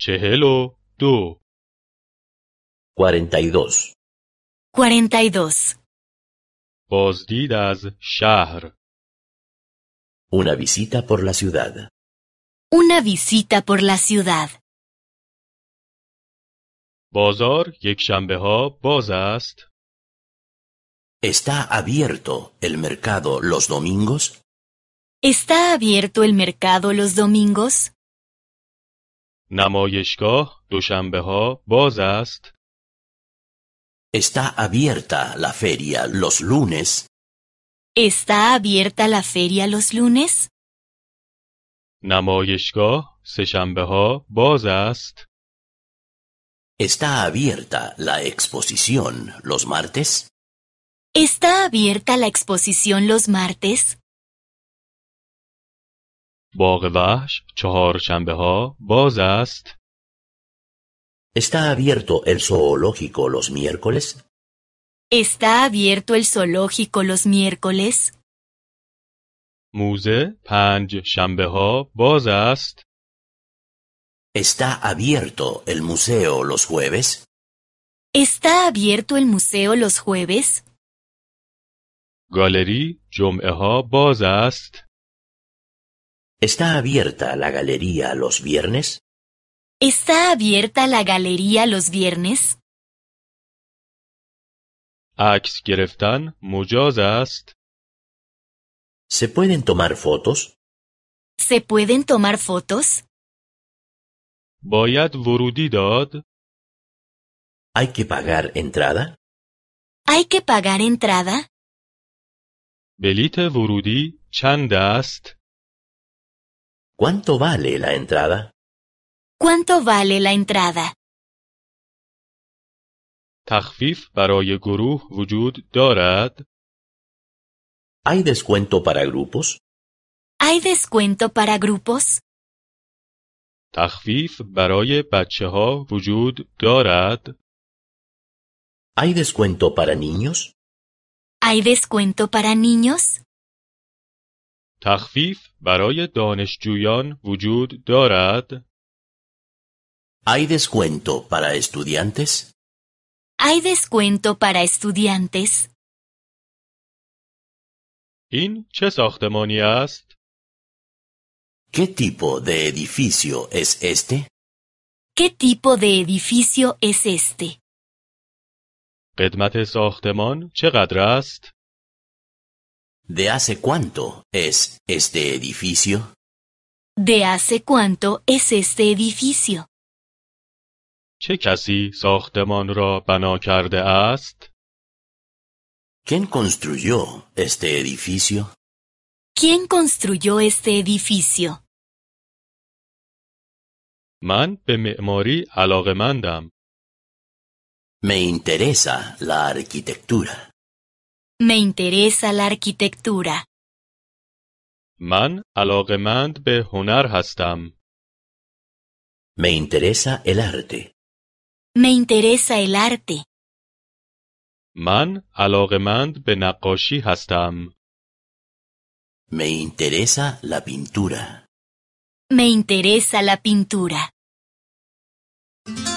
42 42. 42. بازدید از شهر Una visita por la ciudad. Una visita por la ciudad. بازار یک شنبه ها باز است. ¿Está abierto el mercado los domingos? ¿Está abierto el mercado los domingos? نمایشگاه دوشنبه ها باز است. ¿Está abierta la feria los lunes? ¿Está abierta la feria los lunes? نمایشگاه سه‌شنبه ها باز است. ¿Está abierta la exposición los martes? ¿Está abierta la exposición los martes? باغ وحش چهارشنبه ها باز است. ¿Está abierto el zoológico los miércoles? ¿Está abierto el zoológico los miércoles? موزه پنج شنبه ها باز است. ¿Está abierto el museo los jueves? ¿Está abierto el museo los jueves? گالری جمعه ها باز است. ¿Está abierta la galería los viernes? ¿Está abierta la galería los viernes? عکس گرفتن مجاز است. ¿Se pueden tomar fotos? ¿Se pueden tomar fotos? باید ورودی داد. ¿Hay que pagar entrada? ¿Hay que pagar entrada? بلیت ورودی چند است؟ ¿Cuánto vale la entrada? ¿Cuánto vale la entrada? تخفیف برای گروه وجود دارد؟ ¿Hay descuento para grupos? ¿Hay descuento para grupos? تخفیف برای بچه ها وجود دارد؟ ¿Hay descuento para niños? ¿Hay descuento para niños? تخفیف برای دانشجویان وجود دارد؟ ¿Hay descuento para estudiantes? ¿Hay descuento para estudiantes? این چه ساختمانی است؟ ¿Qué tipo de edificio es este? ¿Qué tipo de edificio es este? قدمت ساختمان چقدر است؟ ¿De hace cuánto es este edificio? ¿De hace cuánto es este edificio? چه کسی ساختمان را بنا کرده است؟ ¿Quién construyó este edificio? ¿Quién construyó este edificio? من به معماری علاقه‌مندم. Me interesa la arquitectura. Me interesa la arquitectura. من علاقه‌مند به هنر هستم. Me interesa el arte. Me interesa el arte. من علاقه‌مند به نقاشی هستم. Me interesa la pintura. Me interesa la pintura.